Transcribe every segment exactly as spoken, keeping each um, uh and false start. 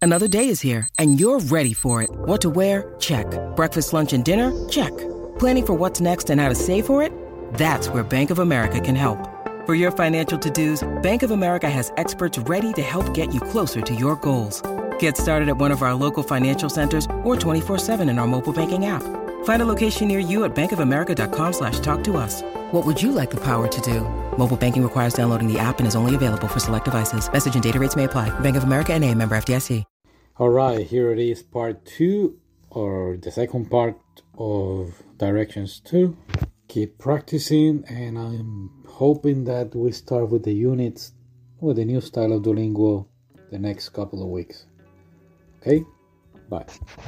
Another day is here, and you're ready for it. What to wear? Check. Breakfast, lunch, and dinner? Check. Planning for what's next and how to save for it? That's where Bank of America can help. For your financial to-dos, Bank of America has experts ready to help get you closer to your goals. Get started at one of our local financial centers or twenty-four seven in our mobile banking app. Find a location near you at bankofamerica.com slash talk to us. What would you like the power to do? Mobile banking requires downloading the app and is only available for select devices. Message and data rates may apply. Bank of America N A, member F D I C. All right, here it is, part two, or the second part of Directions two. Keep practicing, and I'm hoping that we start with the units with the new style of Duolingo the next couple of weeks. Okay? Bye.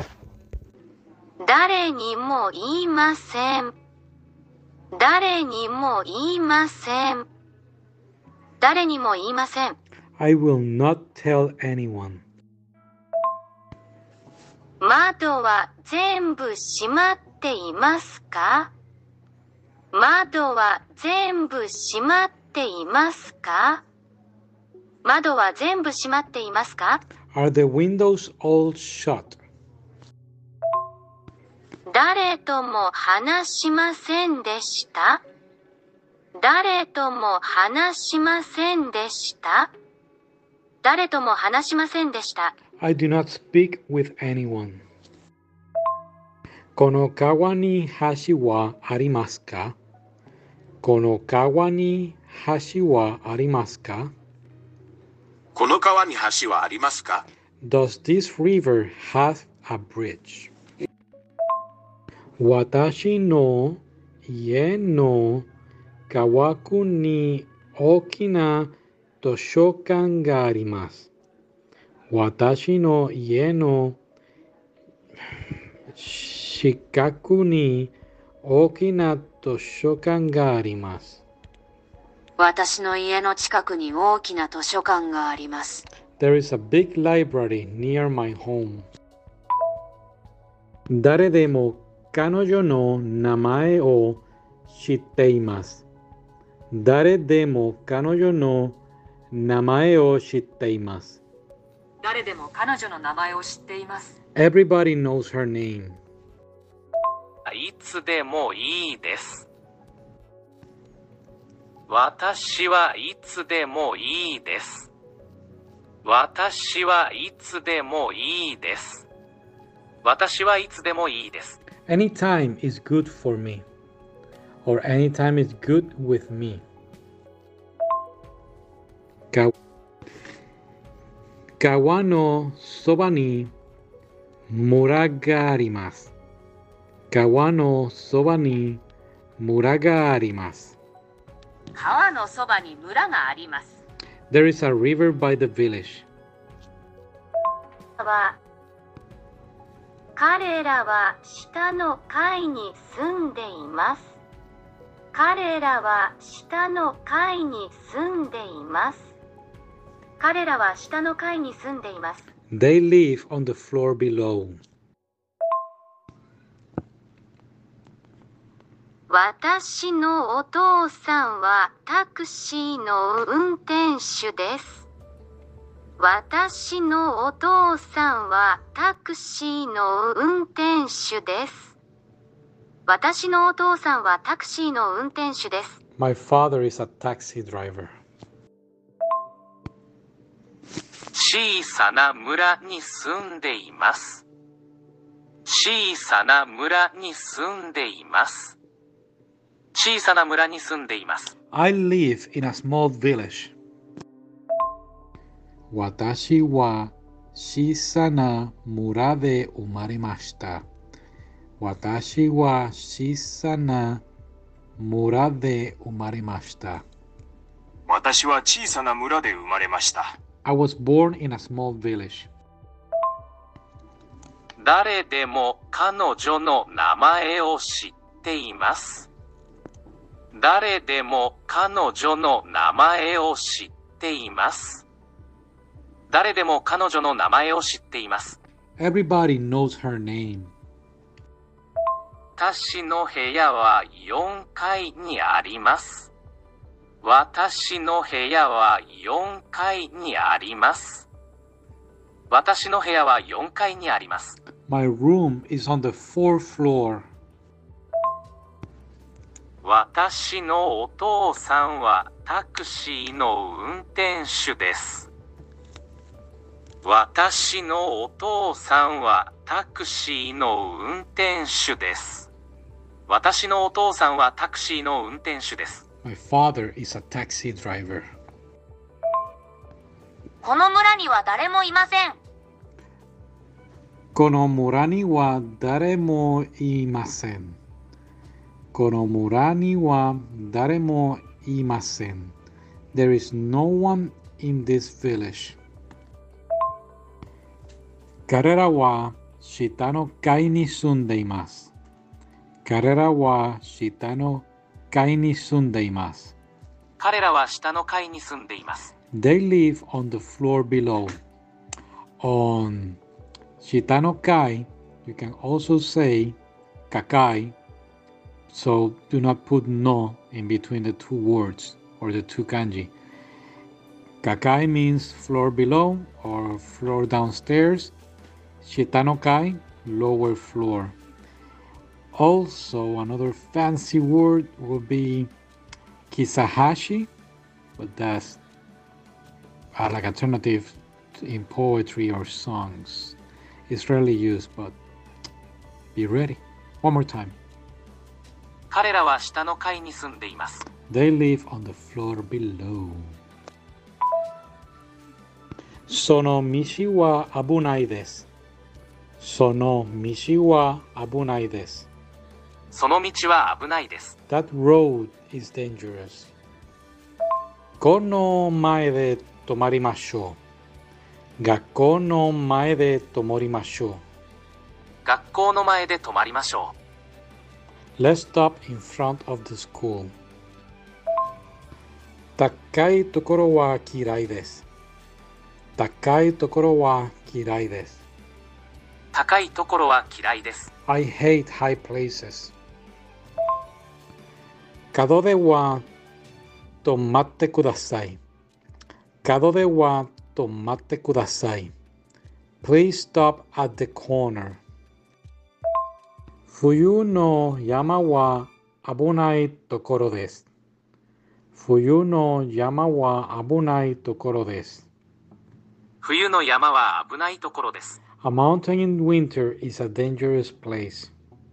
誰にも言いません。誰にも言いません。誰にも言いません。 I will not tell anyone. 窓は全部閉まっていますか？窓は全部閉まっていますか？窓は全部閉まっていますか？ Are the windows all shut? 誰とも話しませんでした。誰とも話しませんでした。誰とも話しませんでした。 I do not speak with anyone. この川に橋はありますか？この川に橋はありますか？ この川に橋はありますか？ Does this river have a bridge? 私の家の川に大きな図書館があります。私の家の近くに大きな図書館があります。 私の家の近くに大きな図書館があります。 There is a big library near my home. 誰でも彼女の名前を知っています。誰でも彼女の名前を知っています。 誰でも彼女の名前を知っています。 Everybody knows her name. いつでもいいです。私はいつでもいいです。私はいつでもいいです。私はいつでもいいです。 Anytime is good for me. Or anytime is good with me. か川のそばに村があります。川のそばに村があります。 川のそばに村があります。 There is a river by the village. 彼らは下の階に住んでいます。彼らは下の階に住んでいます。彼らは下の階に住んでいます。 They live on the floor below. 私のお父さんはタクシーの運転手です。私のお父さんはタクシーの運転手です。私のお父さんはタクシーの運転手です。 My father is a taxi driver. 小さな村に住んでいます。小さな村に住んでいます。小さな村に住んでいます。 I live in a small village. 私は小さな村で生まれました。私は小さな村で生まれました。 私は小さな村で生まれました。 I was born in a small village. 誰でも彼女の名前を知っています。誰でも彼女の名前を知っています。誰でも彼女の名前を知っています。 Everybody knows her name. 私の部屋はよんかいにあります。私の部屋はよんかいにあります。 私の部屋はよんかいにあります。 My room is on the fourth floor. 私のお父さんはタクシーの運転手です。私のお父さんはタクシーの運転手です。私のお父さんはタクシーの運転手です。 My father is a taxi driver. この村には誰もいません。 この村には誰もいません。この村には誰もいません。There is no one in this village. 彼らは下の階に住んでいます。彼らは下の階に住んでいます。 彼らは下の階に住んでいます。 They live on the floor below. On 下の階 you can also say 下階 so do not put no in between the two words or the two kanji. 下階 means floor below or floor downstairs. 下の階 lower floor. Also, another fancy word would be kisahashi, but that's uh, like alternative in poetry or songs. It's rarely used, but be ready. One more time. 彼らは下の階に住んでいます。 They live on the floor below. その道は危ないです。その道は危ないです。 その道は危ないです。 That road is dangerous. この前で止まりましょう。学校の前で止まりましょう。 学校の前で止まりましょう。Let's stop in front of the school. 高いところは嫌いです。高いところは嫌いです。 高いところは嫌いです。 I hate high places. 角では止まってください。角では止まってください。Please stop at the corner. 冬の山は危ないところです。冬の山は危ないところです。 冬の山は危ないところです。 A mountain in winter is a dangerous place.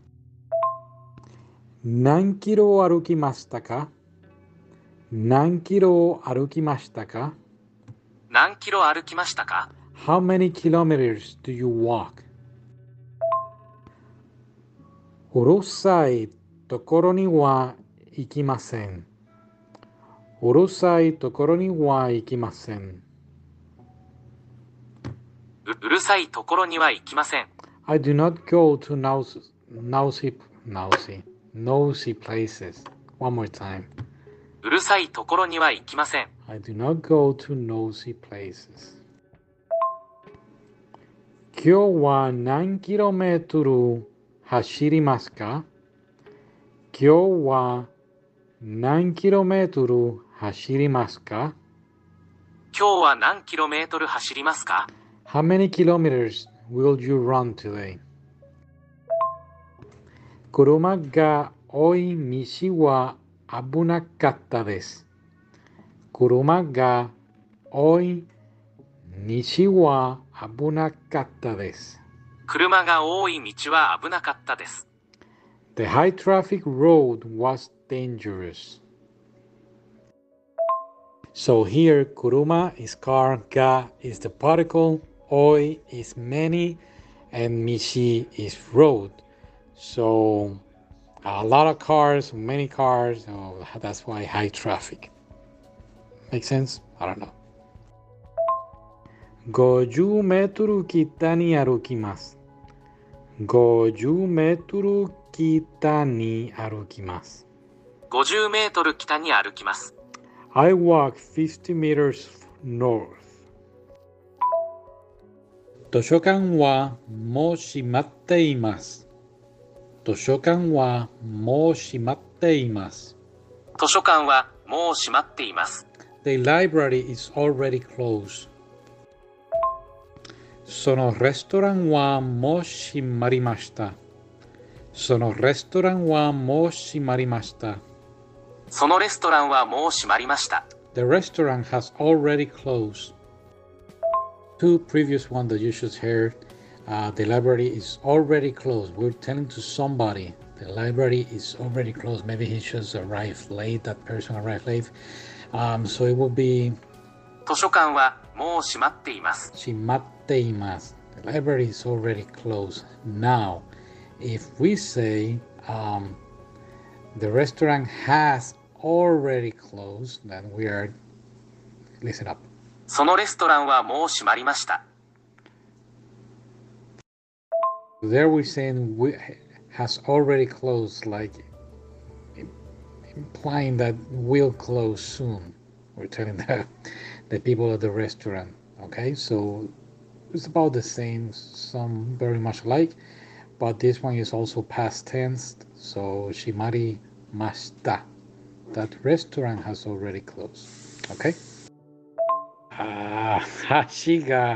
何キロ歩きましたか？何キロ歩きましたか？ 何キロ歩きましたか？ How many kilometers do you walk? うるさいところには行きません。うるさいところには行きません。 うるさいところには行きません。 I do not go to nosy, nosy, nosy, nosy places. One more time. うるさいところには行きません。 I do not go to nosy places. 今日は何キロメートル走りますか？今日は何キロメートル走りますか？ 今日は何キロメートル走りますか？ How many kilometers will you run today? 車が多い道は危なかったです。車が多い道は危なかったです。 車が多い道は危なかったです。 The high traffic road was dangerous. So here, kuruma is car, ga is the particle, oi is many, and mishi is road. So a lot of cars, many cars, oh, that's why high traffic. Make sense? I don't know. ごじゅうメートル北に歩きます。ごじゅうメートル北に歩きます。 ごじゅうメートル北に歩きます。 I walk fifty meters north. 図書館はもう閉まっています。図書館はもう閉まっています。 図書館はもう閉まっています。 The library is already closed. そのレストランはもう閉まりました。そのレストランはもう閉まりました。 そのレストランはもう閉まりました。 The restaurant has already closed. Two previous one that you should hear. Uh, the library is already closed. We're telling to somebody the library is already closed. Maybe he just arrived late. That person arrived late. Um, so it will be 図書館はもう閉まっています。 閉まっています。The library is already closed. Now, if we say um, the restaurant has already closed, then we are, listen up. そのレストランはもう閉まりました。 There we're saying we has already closed, like implying that will close soon. We're telling the, the people at the restaurant. Okay, so it's about the same, some very much alike, but this one is also past tense. So shimari mashita. That restaurant has already closed. Okay. Ah, hashi ga.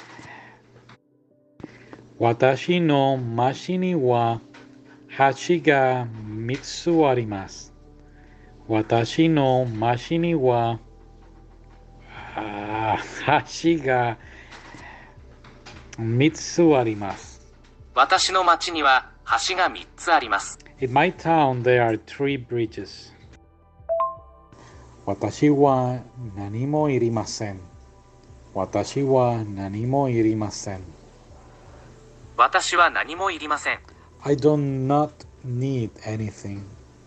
Watashi no mashi ni wa hashi ga mitsu arimasu. Watashi no mashi ni wa ah, hashi ga mitsu arimasu. 私の町には橋がみっつあります。 In my town there are three bridges. 私は何もいりません。私は何もいりません。 私は何もいりません。 I do not need anything.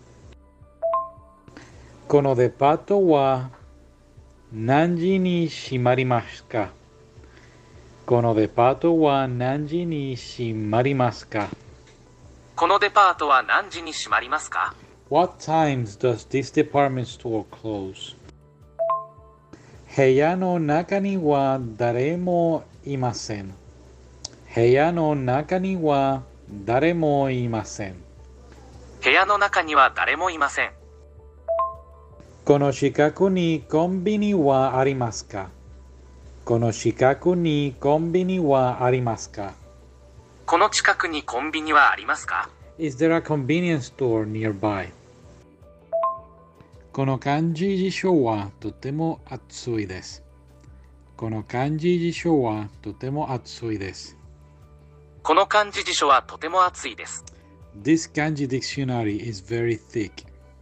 このデパートは何時に閉まりますか？このデパートは何時に閉まりますか？ このデパートは何時に閉まりますか？ What times does this department store close? 部屋の中には誰もいません。部屋の中には誰もいません。 部屋の中には誰もいません。 この近くにコンビニはありますか？この近くにコンビニはありますか？ この近くにコンビニはありますか？ Is there a convenience store nearby? この漢字辞書はとても厚いです。この漢字辞書はとても厚いです。 この漢字辞書はとても厚いです。 This kanji dictionary is very thick.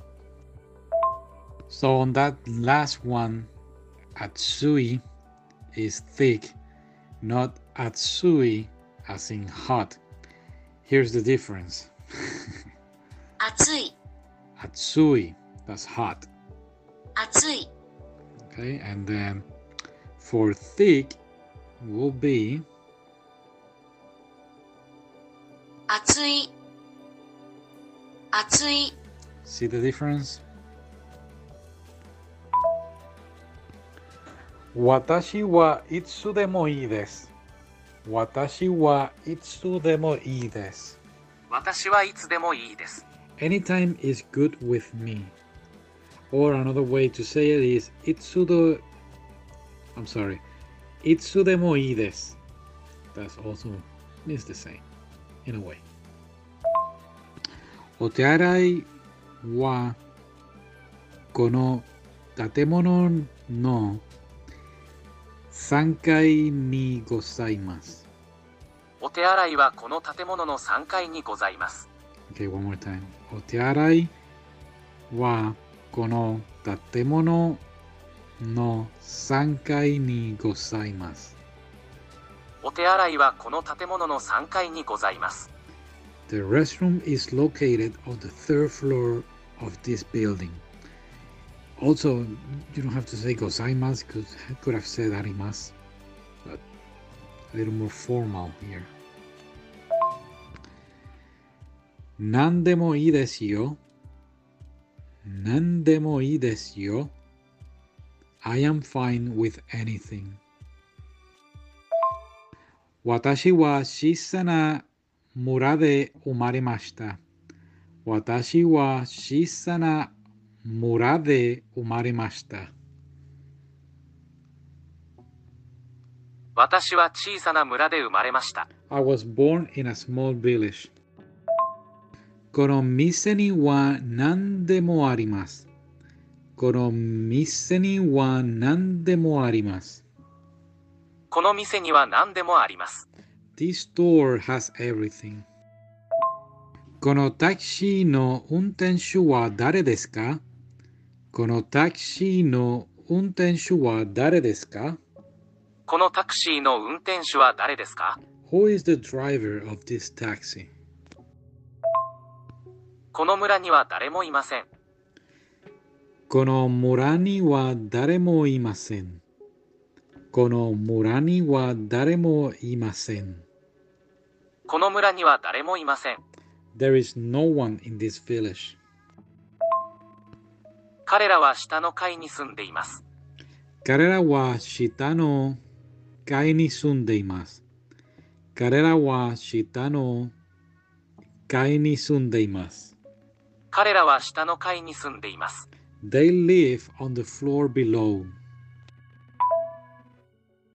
So on that last one, atsui is thick, not atsui as in hot. Here's the difference. 暑い Atsui, that's hot. 暑い Okay, and then for thick will be 暑い暑い see the difference? 私はいつでもいいです。私はいつでもいいです。 私はいつでもいいです。 Anytime is good with me. Or another way to say it is いつで I'm sorry. いつでもいいです。That's also means the same in a way. お手洗いはこの建物のさんがいにございます。 お手洗いはこの建物のさんがいにございます。 Okay, one more time. お手洗いはこの建物のさんがいにございます。 お手洗いはこの建物のさんがいにございます。 The restroom is located on the third floor of this building. Also, you don't have to say gozaimasu because I could have said arimasu, but a little more formal here. 何でもいいですよ。何でもいいですよ。I am fine with anything. 私は小さな村で生まれました。私は小さな村で生まれました。 私は小さな村で生まれました。 I was born in a small village. この店には何でもあります。この店には何でもあります。 この店には何でもあります。 This store has everything. このタクシーの運転手は誰ですか？このタクシーの運転手は誰ですか？ このタクシーの運転手は誰ですか？ Who is the driver of this taxi? この村には誰もいません。 この村には誰もいません。この村には誰もいません。 この村には誰もいません。 There is no one in this village. 彼らは下の階に住んでいます。 彼らは下の階に住んでいます。彼らは下の階に住んでいます。 彼らは下の階に住んでいます。 They live on the floor below.